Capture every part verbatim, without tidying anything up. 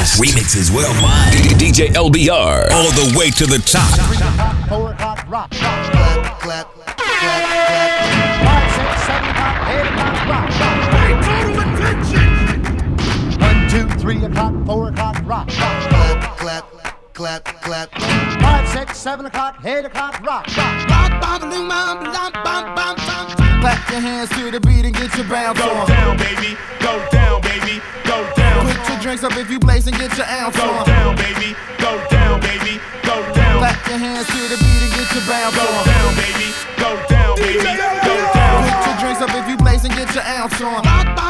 best. Remixes worldwide. D J L B R. All the way to the top. Three o'clock, four o'clock, rock. Clap, clap, clap, clap. Five, six, seven o'clock, eight o'clock, rock. Pay total attention. One, two, three o'clock, four o'clock, rock. Clap, clap, clap, clap. Five, six, seven o'clock, eight o'clock, rock. Rock, bam, bam, bam, bam, bam, bam. Clap your hands to the beat and get your bounce on. Go down, baby. Go down, baby. Go down. Put your drinks up if you blaze and get your ounce Go on. down, baby. Go down, baby. Go down. Clap your hands to the beat and get your bounce Go on. down, baby. Go down, baby. Go down. Put your drinks up if you blaze and get your ounce on.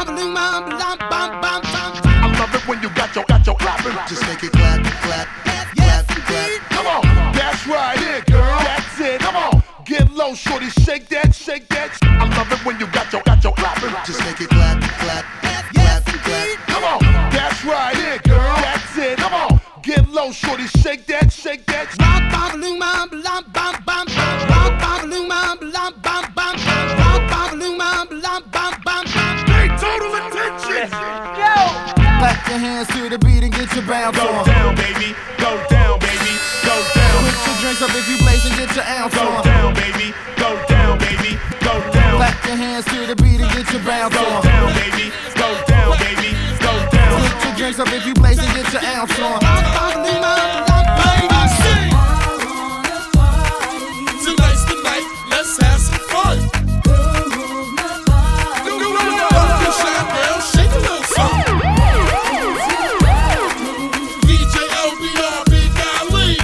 I love it when you got your got your clapping. Just make it clap, clap, Yes, clap, clap. come on. That's right, it, girl. That's it. Come on. Get low, shorty. Shake that, shake that. I love it when you got your got your clapping. Just make it clap, clap, clap, clap. Come on. That's right, it, girl. That's it. Come on. Get low, shorty. Shake that, shake that. Pay total attention. Clap your hands to the beat and get your bounce Go on. down, baby. Go down, baby. Go down. Put your drinks up if you blaze and get your ounce Go on. down, baby. Go down, baby. Go down. Clap your hands to the beat and get your bounce Go on. down, baby. Go down, baby. Go down. Put your drinks up if you blaze and get your ounce on. Ladies, sing. Tonight's the night. Let's have some fun. Don't be shy, girl. Shake a little something. D J L B R, Big Ali.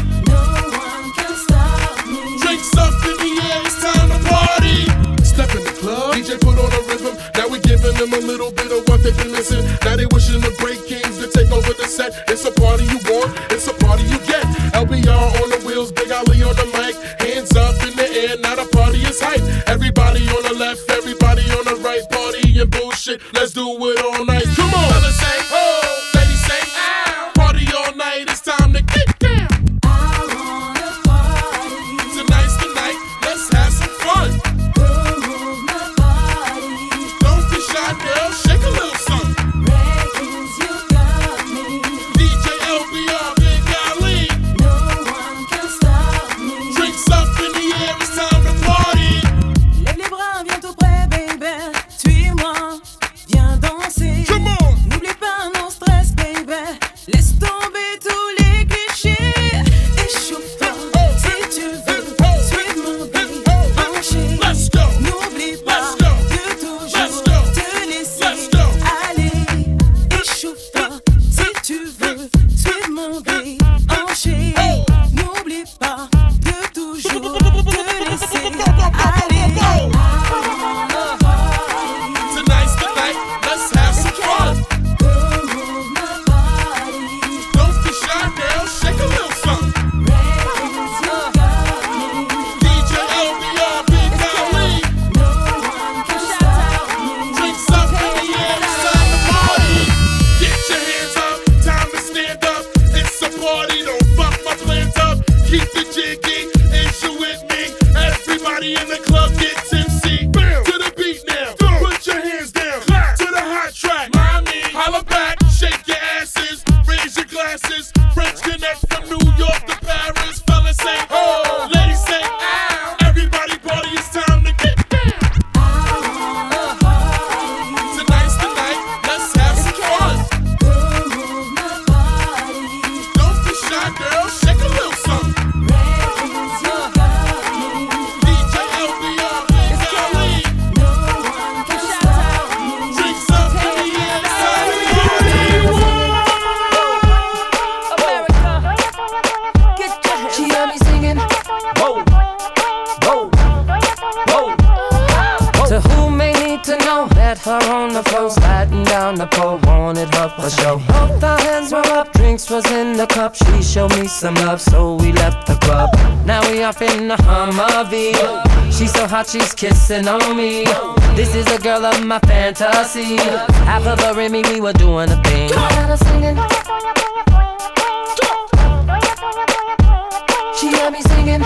Drinks up in the air. It's time to party. Step in the club. D J put on a rhythm. Now we giving them a little bit of what they've been missing. Now they wishing the break kings to take over the set. It's a party you want. It's a party you get. L B R on the wheels. Big Ali on the mic. Hands up in the air. Now the party is hype. Everybody on the left. Everybody on the right. Party and bullshit. Let's do it all night. Come on. Fellas say oh. Ladies say ow. Party all night. It's time to get down. Tonight's the night. Let's have some fun. Don't be shy, girl. Shake a little something. D J L B R, Big Ali. Drinks up in the air. It's time to party. Lève les bras, viens tout près, baby. Suis-moi, viens danser. Come on. N'oublie pas mon stress, baby. Laisse tomber tous les clichés. Échauffe-toi si tu veux. Suis mon beat, penché. Let's go. N'oublie pas Let's go. de toujours Let's go. te laisser Let's go. aller. Échauffe-toi si tu veux. Suis mon beat, penché. N'oublie pas de toujours te laisser aller. Tonight's the night. Let's have some fun. Don't be shy, girl. Shake a little something. D J L B R, Big Ali. Drinks up in the air. It's time to party. Get your hands up. Time to stand up. It's a party. Don't fuck my plans up. Keep the jiggy. Is you with me? Everybody in the club get tipsy. To the beat now. Put your hands down. To the hot track. Holla back. Shake your asses. Raise your glasses. French connect from New York to Paris. Fellas say oh. Ladies say ow. Everybody party. It's time to get down. Tonight's the night. Let's have some fun. Don't be shy, girl. Shake a little something. D J L B R, Big Ali. Drinks up in the air. It's time to party. She heard me singing. Whoa, whoa, whoa. To who may need to know, met her on the floor, sliding down the pole, wanted her for show. Both our hands were up, drinks was in the cup. She showed me some love, so we left the club. Now we off in the Humvee. She's so hot, she's kissing on me. This is a girl of my fantasy. Half of her in me, we were doing a thing. I had her singing. She had me singing.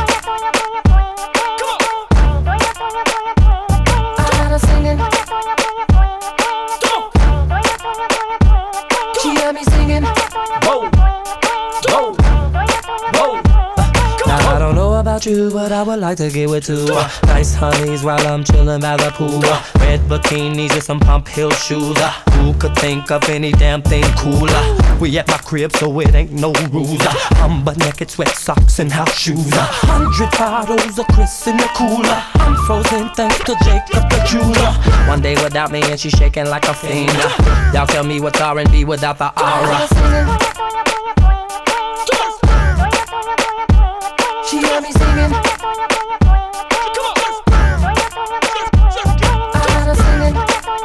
I had her singing. She had me singing. Whoa. want you, but I would like to get with two. Uh, nice honeys while I'm chillin' by the pool. Uh, red bikinis and some pump heel shoes. Uh, who could think of any damn thing cooler? We at my crib, so it ain't no rules. Uh, I'm butt naked, sweat socks and house shoes. A uh, hundred bottles of Chris in the cooler. I'm frozen thanks to Jacob the jeweler. One day without me and she shaking like a fiend. Uh, y'all tell me what's R and B without the aura. She heard me singing. I had her singing.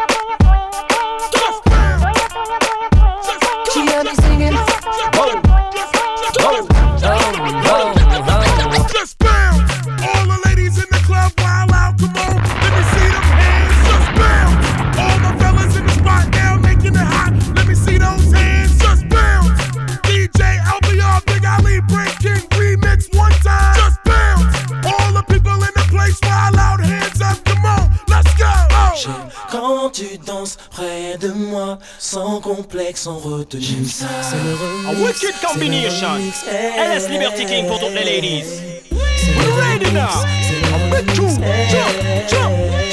She heard me singing. Whoa, whoa, whoa, whoa. Just bounce. All the ladies in the club, wild out, come on. Let me see them hands. Just bounce. All the fellas in the spot now making it hot. Let me see those hands. Just bounce. D J L B R, Big Ali, Breaking remix one time. Just bounce. All the people in the place, wild out, hands up, come on. Let's go. Oh. J'aime quand tu danses près de moi, sans complexe, sans retenue. C'est le remix. A wicked combination. L S Liberty King pour toutes les ladies. C'est le ready now. I'm with you. Jump, jump,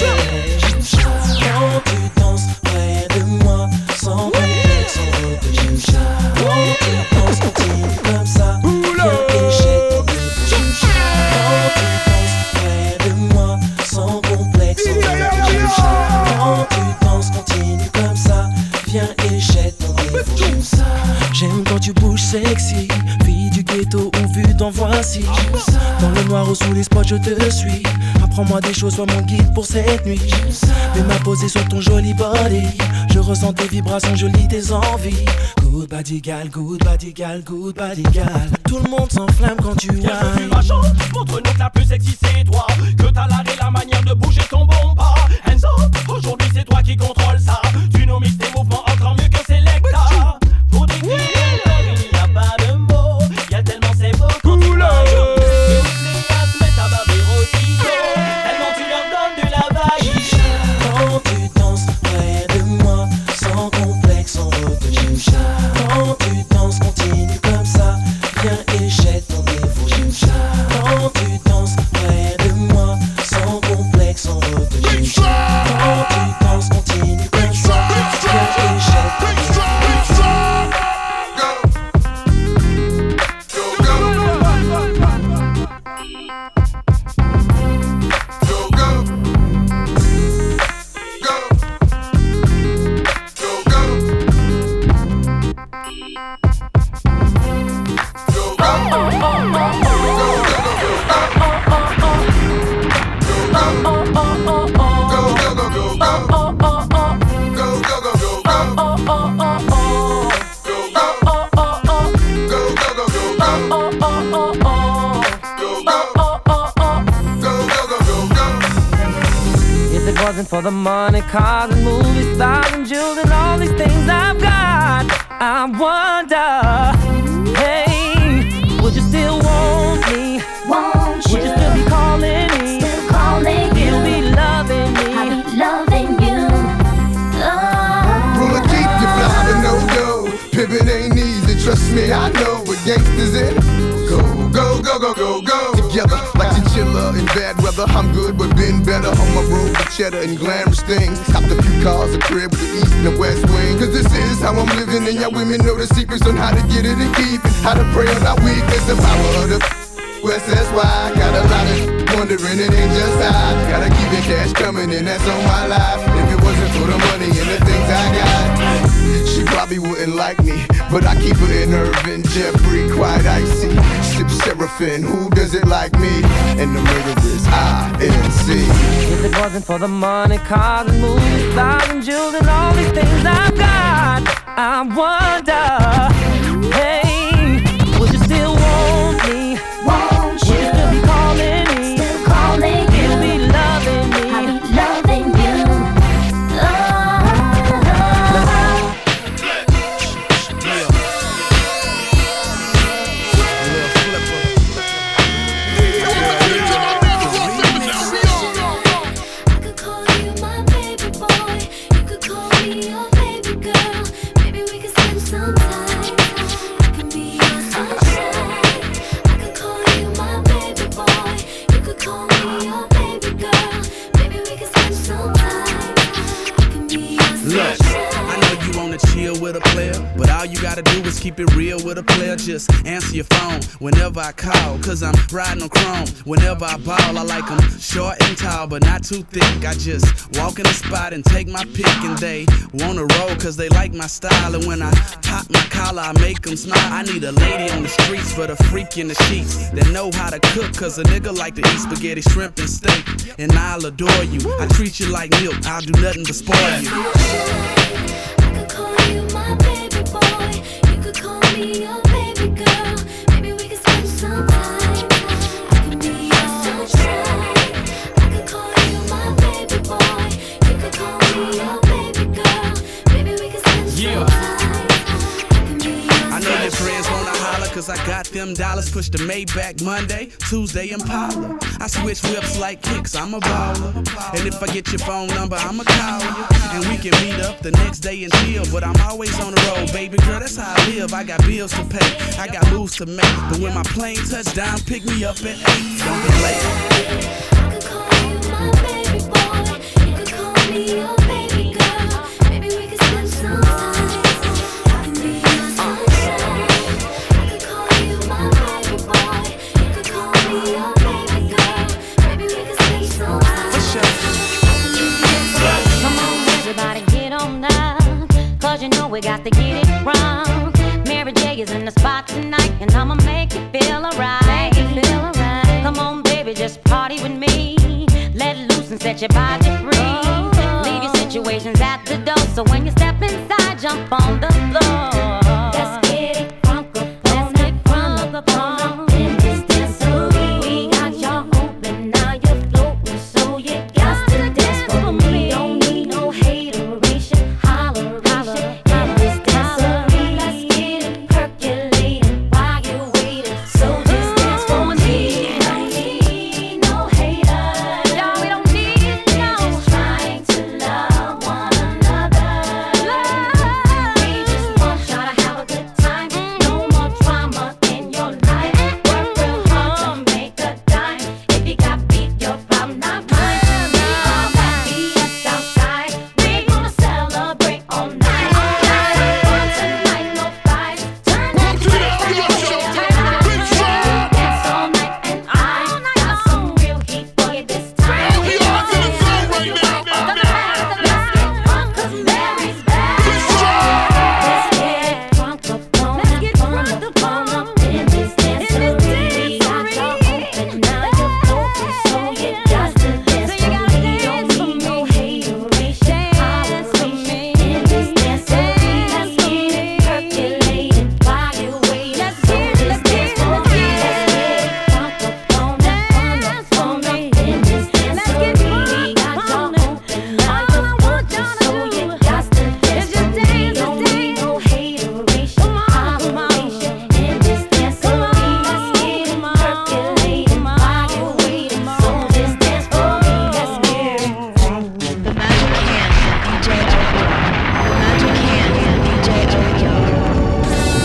jump. Quand tu danses près de moi, sans complexe, sans retenue. Quand tu danses, continue comme ça. Viens et jette ton dévolu. Quand tu danses près de moi, sans complexe, sans retenue. Quand tu danses, continue comme ça. Viens et jette ton dévolu. J'aime quand tu bouges sexy, fille du ghetto ou vue d'en voici. Dans le noir ou sous les spots je te suis. Apprends-moi des choses, sois mon guide pour cette nuit. Fais ma poser sur ton joli body. Je ressens tes vibrations, je lis tes envies. Good body gal, good body gal, good body gal. Tout le monde s'enflamme quand tu Viens que tu whines. ma chance, montre-nous que la plus sexy c'est toi. Que t'as l'art et la manière de bouger ton bon pas. Hands up, aujourd'hui c'est toi qui contrôle ça. Tu nous mixes tes mouvements encore mieux que Selecta. Pour décrire il n'y a pas de mots. Y'a tellement c'est beau quand tu m'as eu. Et où les gars se mettent à baver aussitôt. Tellement tu leur donnes de la vague. Quand tu danses près de moi, sans complexe, sans retenue. Quand tu danses, continue comme ça. Viens et jette ton dévolu. Quand tu danses près de moi, sans complexe, sans retenue. Quand tu danses, continue comme ça. Viens et jette ton dévolu. If it wasn't for the money, cars and movie stars and jewels and all these things I've got, I wonder, hey, would you still want me? Won't Would you still be calling me? Still calling you. You'll be loving me. I'll be loving you. Oh. Roll a deep, you fly to no go. Pimpin' ain't easy, trust me, I know what gangsters in. Go, go, go, go, go, go. Together, like chinchilla in bad weather. I'm good, but been better on my road with cheddar and glamorous things. Copped a few cars, a crib with the east and the west wing. Cause this is how I'm living, and y'all women know the secrets on how to get it and keep it. How to pray on our weakness, the power of the West, that's why I got a lot of wondering, it ain't just I. Gotta keep the cash coming, and that's on my life. If it wasn't for the money and the things I got, she probably wouldn't like me. But I keep her in Irvin, Jeffrey, quite icy. Sip Seraphim, who does it like me? And the murder is I N C. If it wasn't for the money, cars and movies, stars and jewels and all these things I've got, I wonder, hey, would you still want me? Won't Would you still be calling me? Still calling you. You'll be loving me. I'll be loving you. Oh. I could call you my baby boy. You could call me your baby girl. Maybe we could spend some time. gotta do is keep it real with a player. Just answer your phone whenever I call, cause I'm riding on chrome. Whenever I ball, I like them short and tall, but not too thick. I just walk in the spot and take my pick, and they wanna roll cause they like my style. And when I pop my collar, I make them smile. I need a lady on the streets for the freak in the sheets that know how to cook, cause a nigga like to eat spaghetti, shrimp, and steak. And I'll adore you, I treat you like milk, I'll do nothing but spoil you. I could call you my baby boy. You could call me your baby girl. Maybe we could spend some time. I can be your sunshine. I could call you my baby boy. You could call me your baby girl. Maybe we could spend some time. I know your friends wanna holler cause I got them dollars. Push the Maybach Monday, Tuesday Impala. I switch whips like kicks, I'm a baller. And if I get your phone number, I'ma call you. And we can meet up the next day and chill. But I'm always on the road, baby girl, that's how I live. I got bills to pay, I got moves to make. But when my plane touch down, pick me up at eight. Don't be late. I could call you my baby boy. You could call me your baby girl. Maybe we could spend some time. I can be your sunshine. I could call you my baby boy. You could call me your baby girl. Maybe we could spend some time. Come on, everybody, get on up, cause you know we got to get it wrong. Mary J is in the spot tonight, and I'ma make you feel alright. Feel alright. Come on, baby, just party with me. Let loose and set your body free. Leave your situations at the door, so when you step inside, jump on the floor. Let's get it crunk up, let's get crunk up on in this dancery. We got y'all open, now you're floating, so you got to dance for me. Don't need no hateration, holleration in this dancery. Let's get it percolating while you're waiting, so just dance for me. Don't need no haters, No, we don't need we're no. just trying to love one another. We just want y'all to have a good time. No more drama in your life. Work real hard to make a dime. If you got beef, your problem, not mine. We all got B S outside. We gonna celebrate all night. Night of fun tonight, no fights. Turn that dance all night, and I got some real heat for you this time. We are to the zone right now. Let's get drunk 'cause Mary's back. Let's get drunk up on Let's get up, drunk up, up on on up in this dancery. We got dancery. y'all open, now you're floating, so you got to dance So you for gotta me. Don't dance for need no me. hateration, Dance for holleration me. in this dancery. Let's Dance for get it me. percolating while you're waiting. Let's So get it, just let's dance get it, for let's me. get Let's it. get drunk up on up, on Dance up, for on me. up in this Let's get dancery. drunk We got on y'all it. open, now All you're I want floating, y'all to so do you got to dance is just for me. dance, Don't just need dance. no hateration, Come on, come on. holleration in this dancery. Let's get it Come on, percolating come on, while you're waiting. come So on. just dance for me. Let's get it. The Magic Hands and D J Elvio. The Magic Hands and D J Elvio.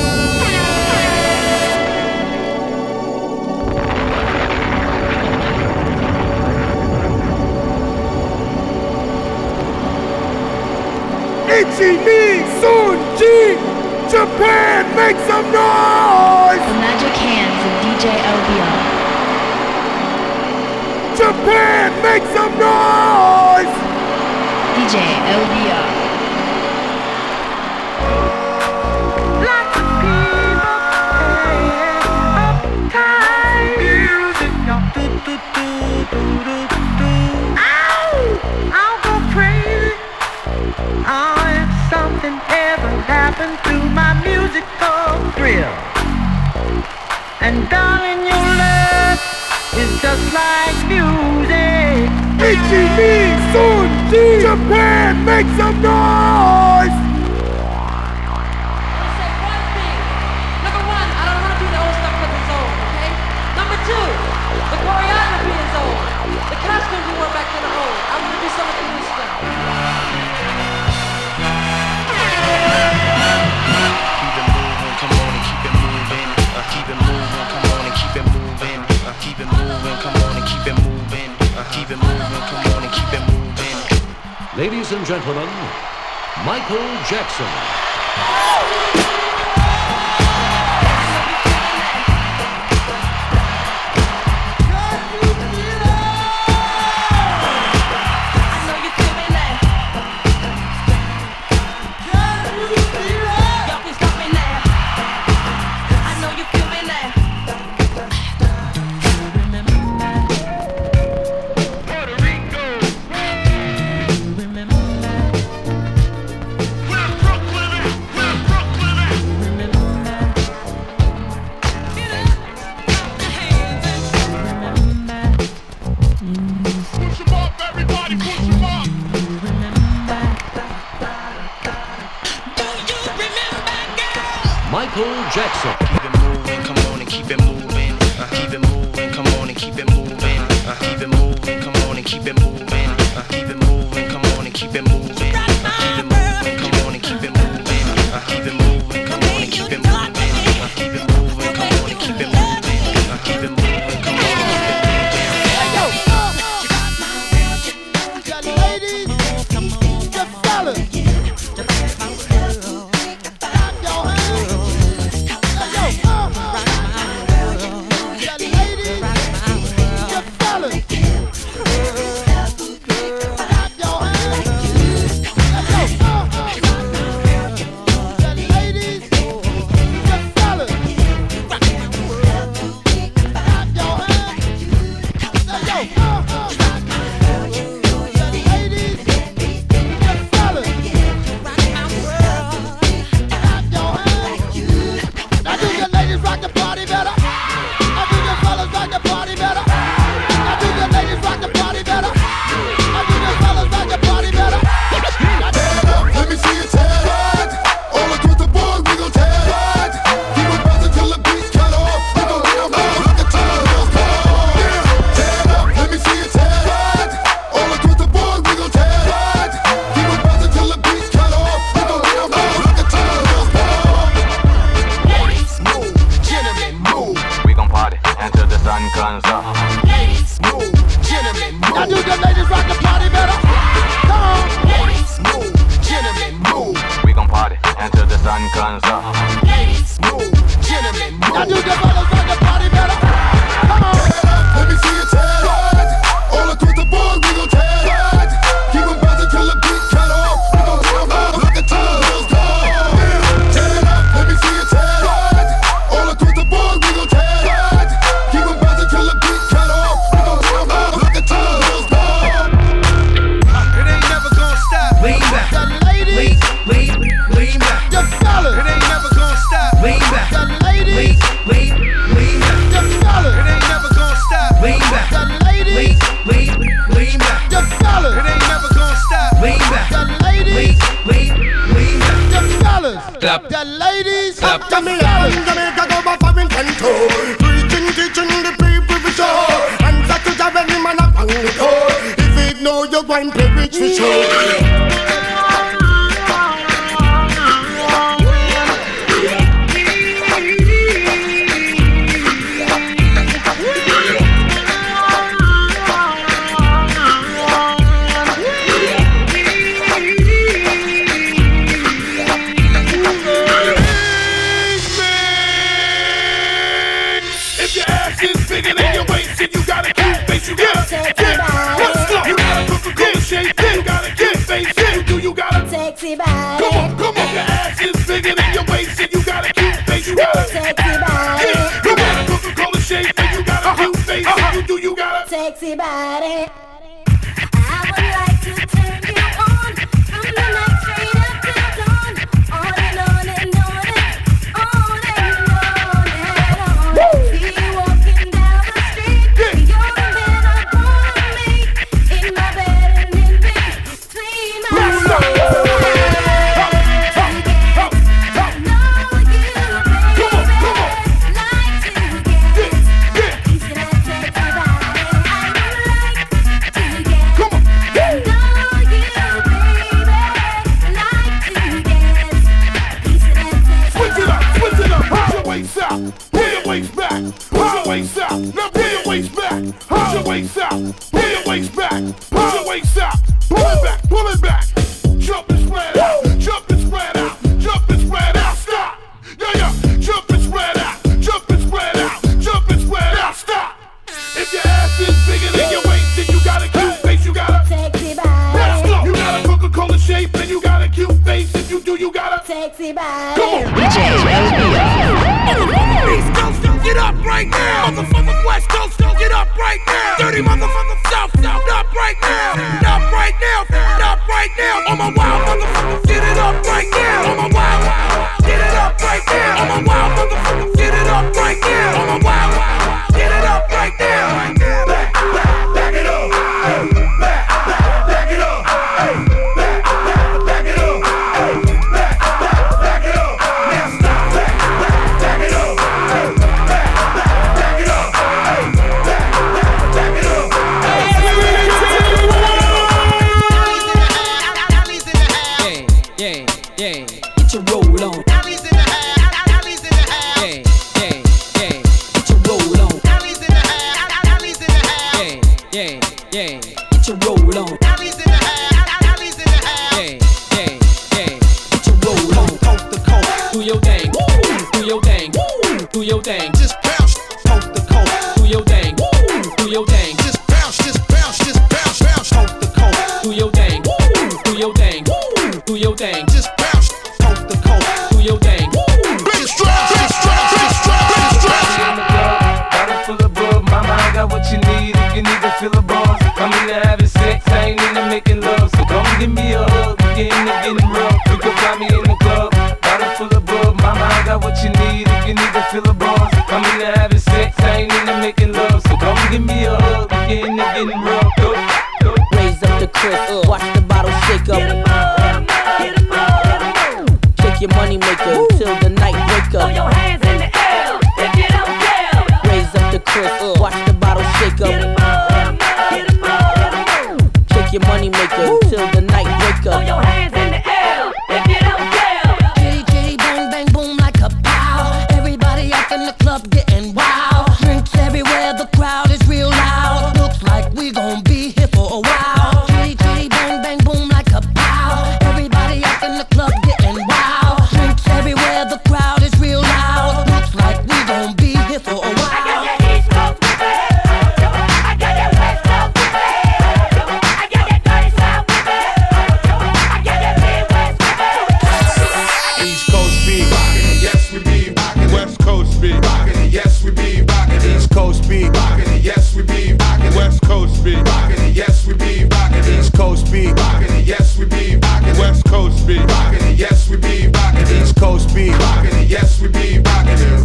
Ichimi Sunji, Japan, make some noise! The Magic Hands and D J Elvio. Japan, make some noise! D J Elvio. Lots of people playing uptight music. Do, do, do, do, do, do. Ow! I'll go crazy. Oh, if something ever happened to my musical thrill. And darling, your love is just like music. Ichimi Sunji, Japan, make some noise! Say one thing. Number one, I don't want to do the old stuff because it's old, okay? Number two, the choreography is old. The costumes you wore back then are old. I want to do some of the new stuff. Keep it moving, come on and keep it moving. Uh, keep it moving, come on and keep it moving. Uh, keep it moving, come on and keep it moving. Uh, keep it moving, come on and keep it moving. Ladies and gentlemen, Michael Jackson. Jackson. Keep it moving, come on and keep it moving. Uh, keep it moving, come on and keep it moving. Uh, keep it moving, come on and keep it moving. Uh, keep it moving, come on and keep it moving. Uh, keep it moving, come on and keep it moving. Uh, keep it moving, come on and keep it moving. Uh, keep it moving, come on and keep it moving. Uh, keep it moving, come on and keep it moving. Sexy body. I would like to turn you on from the night straight up till dawn. On and on and on and on and on and on. See you walking down the street. You're the man I wanna meet in my bed and in between my legs. Waist back, push your waist out. Now pull your waist back, push your waist out. Pull your waist back, push your waist out. Pull it back, pull it back. Jump and spread out, jump and spread out, jump and spread out. Stop. Yeah, yeah. Jump and spread out, jump and spread out, jump and spread out. Stop. If your ass is bigger than your waist, then you got a cute face. You got a sexy body. Let's go. You got a Coca-Cola shape, and you got a cute face. If you do, you got a sexy body. Come on, D J L B R. East Coast, get up right now. Motherfucker West Coast, get up right now. Dirty motherfucker South, South, up right now. Up right now, up right now. On my wild motherfucker, get it up right now. On my wild, get it up right now. On my wild motherfucker, get it up right now. On my wild, get it up right now. Back, back, back it up. Back, back, back it up. Back, back, back it up. Back, back, back it up. Now stop. Back, back. do your thing, do your thing. Just bounce, coast to coast. Do your thing, do your thing. Just bounce, just bounce, just bounce, bounce, coast to coast. Do your thing, do your thing, do your thing. Just bounce, coast to coast. Do your thing. Just drop, just drop, just drop, just drop. In the club, bottle full of bub. Mama, I got what you need if you need to fill a buzz. I'm into having sex, I ain't into making love. So come give me a hug, we get into getting rough. You can find me in the club, bottle full of bub. Mama, I got what you need if you need to fill a buzz. I'm into having sex, I ain't into making love. So come give me a hug, we get into getting rough. Go, go. Raise up the crisp, uh. watch the bottle shake up. Get 'em up, get 'em up, get 'em up. Shake your money maker Woo. Till the night break up. Throw your hands in the air if you don't care. Raise up the crisp, uh. watch the bottle shake up. Get 'em up, get 'em up, get 'em up. Shake your money maker Woo. Till the night break up. Throw your hands in the air if you don't care. Kitty kitty bang bang boom like a pow. Everybody up in the club getting wild. Drinks everywhere, the crowd is real loud. Looks like we gon' be here for a while. Kitty kitty bang bang boom like a pow. Everybody up in the club getting wild. Drinks everywhere, the crowd is real loud. Looks like we gon' be here for a while. I got that East Coast with me. I got that West Coast with me. I got that dirty South with me. I got that Midwest with me. East Coast be rockin' it, yes we be rockin' it. West Coast be rockin' it, yes we be rockin' it. East Coast be rockin' it, yes we be rockin' it. West Coast be rockin' it, yes we be rockin' it. East Coast be rockin' it, yes we be rockin' it. West Coast be rockin' it, yes we be rockin' it. East Coast be rockin' it, yes we be rockin' it.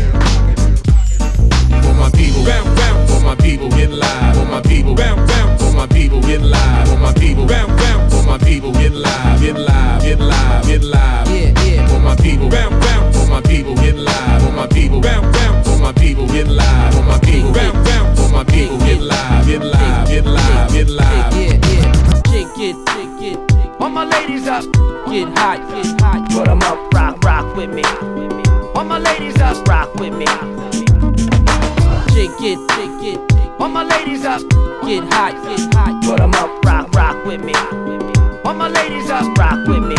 For my people, bounce, bounce. For my people, get live. For my people, bounce, bounce. For my people, get live. For my people, bounce, bounce. For my people, get live, get live, get live, get live. Yeah, yeah. For my people, bounce, bounce. For my people, get live. For my people, bounce, bounce. For my people, get live. For my people, bounce, bounce. For my people, get live, get live, get live, get live. Yeah, yeah. Shake it, shake it. All my ladies up, get hot, get hot. Put 'em up, rock, rock with me. All my ladies up, rock with me. Shake it, shake it. All my ladies up, get hot, get hot. Put 'em up, rock, rock with me. All my ladies up, rock with me.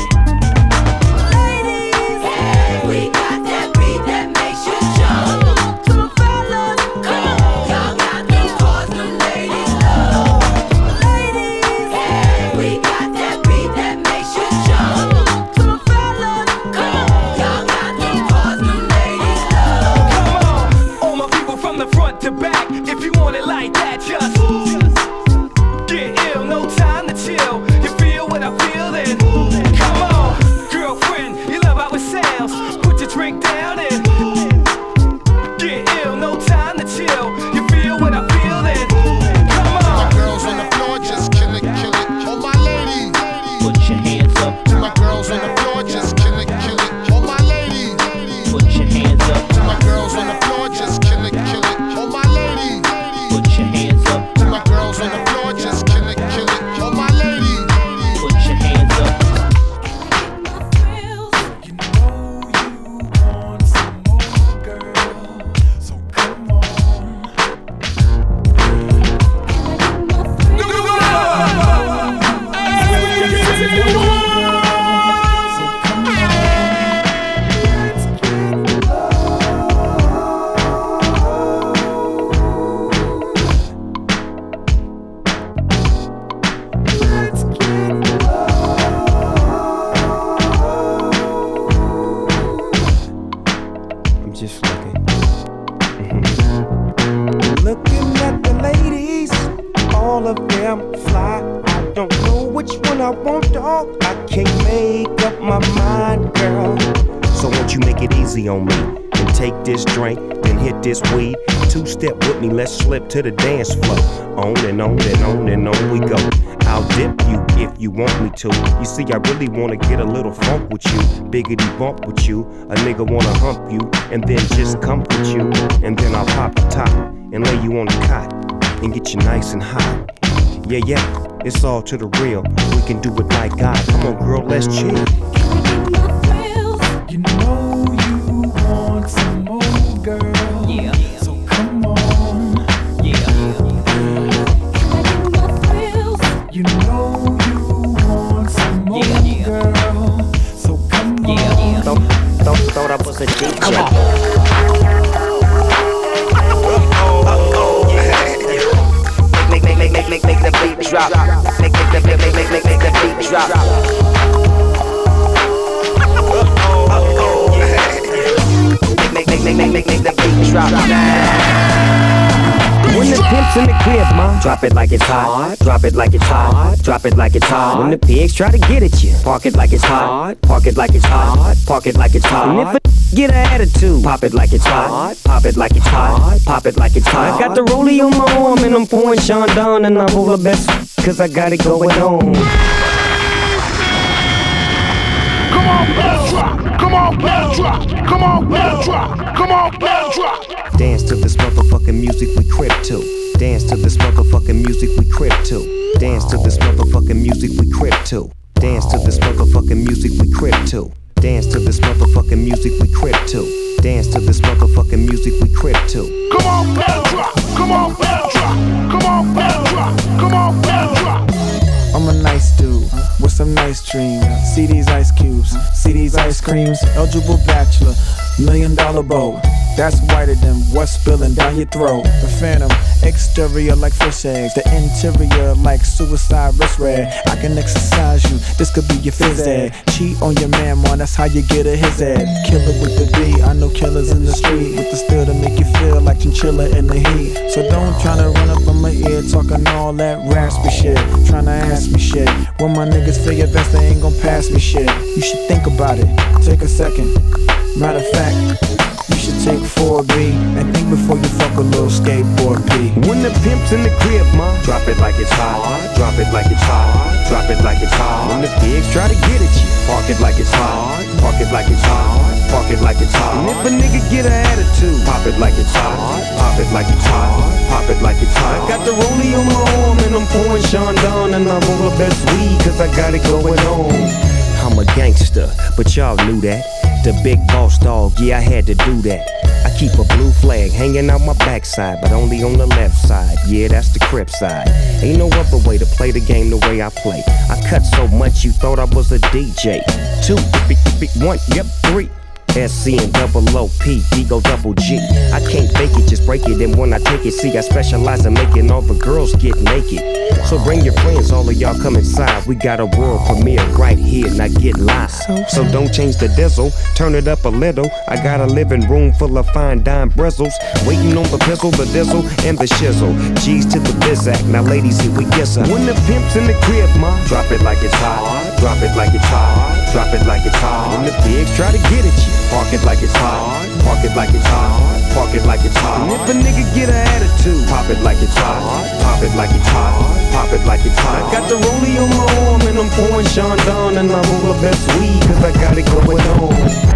Ladies, hey, we got that beat that makes you jump. To the fellas, come on, y'all got them cars, them ladies love. Ladies, hey, we got that beat that makes you jump. To the fellas, come on, y'all got them cars, them ladies love. Come on, all my people from the front to back. If you want it like that, just get ill, no time to chill. You feel what I feel then? Come on, girlfriend, you love how it sounds. Put your drink down and get ill, no time to chill. You feel what I feel then? Come on. My girls on the floor just kill it, kill it. Oh my ladies, Put your hands up, to my girls on the floor just kill it, kill it. Oh my ladies, put your hands up, to my girls on the floor just kill it, kill it. Oh my ladies, put your hands up, to my girls on the floor just kill it, kill it. Oh my ladies, put your hands up. I'm just looking. Looking at the ladies, all of them fly. I don't know which one I want, dog. I can't make up my mind, girl. So won't you make it easy on me and take this drink, then hit this weed. Two-step with me, let's slip to the dance floor. On and on and on and on we go. I'll dip you if you want me to. You see, I really wanna get a little funk with you. Biggity bump with you. A nigga wanna hump you and then just comfort you. And then I'll pop the top and lay you on the cot and get you nice and hot. Yeah, yeah, it's all to the real. We can do it like God. Come on, girl, let's chill. You know you want some more, girl. Yeah. So come on. Yeah. You know you want some more, yeah, girl. So come on. Thought, thought, thought I was a Come on. Make, make, make, make, make, make the beat drop. Make, make the, make, make, make, make, make the beat drop. Make, make, make, make, make, make the beat drop. When the pimp's in the crib, ma, drop it like it's hot. Drop it like it's hot. Drop it like it's hot. When the pigs try to get at you, park it like it's hot. Park it like it's hot. Park it like it's hot. And if a get an attitude, pop it like it's hot. Pop it like it's hot. Pop it like it's hot. I got the rollie on my arm and I'm pouring Sean down and I'm all the best cause I got it going on. Come on, let's drop. Come on, let's drop. Come on, let's drop. Come on, let's drop. Dance to this motherfucking music we crib to. Dance to this motherfucking music we crib to. Dance to this motherfucking music we crib to. Dance to this motherfucking music we crib to. Dance to this motherfucking music we crib to. Dance to this motherfucking music we crib to. Come on, let's drop. Come on, let's drop. Come on, let's drop. Come on, let's drop. I'm a nice dude with some nice dreams. See these ice cubes, see these ice creams. Eligible bachelor, million dollar bow. That's whiter than what's spilling down your throat. The phantom, exterior like fish eggs. The interior like suicide wrist red. I can exercise you, this could be your phys ed. Cheat on your man, man, that's how you get a his head. Killer with the B, I know killers in the street. With the steel to make you feel like chinchilla in the heat. So don't tryna run up on my ear talking all that raspy shit. Tryna ask me shit. When my niggas feel your vest, they ain't gon' pass me shit. You should think about it, take a second. Matter of fact, you should take four B and think before you fuck a little skateboard P. When the pimp's in the crib, ma, drop it like it's hot. Drop it like it's hot. Drop it like it's hot. When the pigs try to get at you, park it like it's hot. Park it like it's hot. Park it like it's hot. And if a nigga get an attitude, pop it like it's hot. Pop it like it's hot. Pop it like it's hot. I got the rollie on my arm and I'm pouring Sean down and I'm all the best weed cause I got it going on. I'm a gangster, but y'all knew that. The big boss dog, yeah, I had to do that. I keep a blue flag hanging out my backside, but only on the left side. Yeah, that's the Crip side. Ain't no other way to play the game the way I play. I cut so much you thought I was a D J. Two, one, yep, three. S C and double O P, D go double G. I can't fake it, just break it. And when I take it, see, I specialize in making all the girls get naked. So bring your friends, all of y'all come inside. We got a world premiere right here, now get live. So don't change the diesel, turn it up a little. I got a living room full of fine dime bristles. Waiting on the pistol, the dizzle, and the shizzle. G's to the bizac, now ladies, here we kiss her. When the pimp's in the crib, ma, drop it like it's hot. Drop it like it's hot. Drop it like it's hot. When the pigs try to get at you, park it like it's hot. Park it like it's hot. Park it like it's hot. And if a nigga get an attitude, pop it like it's hot. Pop it like it's hot. Pop it like it's hot. I got the rollie on my arm and I'm pouring Sean down and I'm all the best weed cause I got it going on.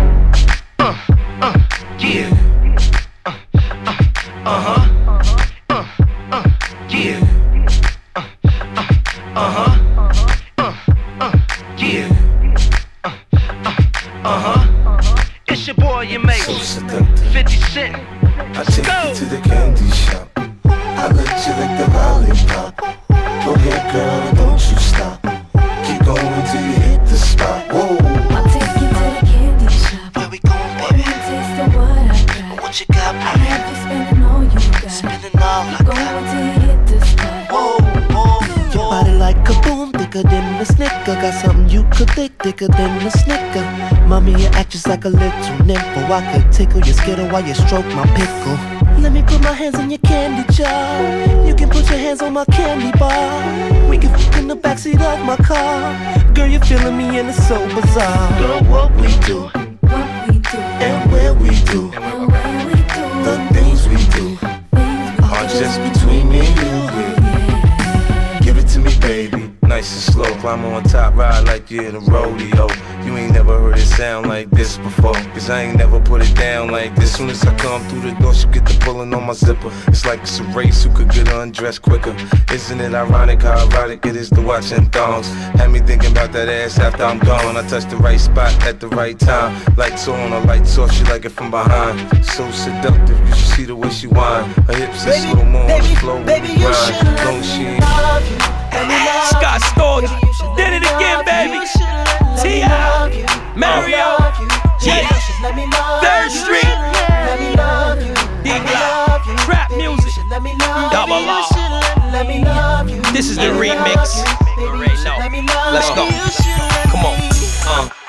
Uh, uh, yeah. Uh, uh, uh-huh. Uh, uh, yeah. Uh, uh, uh-huh. Uh, uh, yeah. Uh, uh, uh-huh. It's your boy, you make fifty cent. I take Go. you to the candy shop. I let you lick the lollipop. Go ahead, girl, don't you stop. Keep going till you hit the spot. Whoa. I'll take you to the candy shop. Where we going, baby? One taste of what I got. What you got, baby? I have you spending all you got. Spending all Keep I going got. till you hit the spot. Whoa, whoa, your body like a boom, thicker than a snicker. Got something you could lick, thicker than a snicker. Mommy, you act just like a little nympho. I could tickle your skittle while you stroke my pickle. Let me put my hands in your candy jar. You can put your hands on my candy bar. We can f*** in the backseat of my car. Girl, you're feeling me and it's so bizarre. Girl, what we do, What we do, and where we do, and where we do, the things we do Are just between me and you. Give it to me, baby. Nice and slow, climb on top, ride like you're in a rodeo. You ain't never heard it sound like this before, cause I ain't never put it down like this. Soon as I come through the door, she get the pulling on my zipper. It's like it's a race, who could get undressed quicker. Isn't it ironic how erotic it is to watching thongs? Had me thinking about that ass after I'm gone. I touch the right spot at the right time. Lights on, or lights off, she like it from behind. So seductive, you should see the way she whine. Her hips are slow mo on the floor with the grind. Long she ain't Scott Storch, did it again, baby. T I, Mario, yeah. Third Lala. This is the remix. You already know. Let's go. Come on. Uh.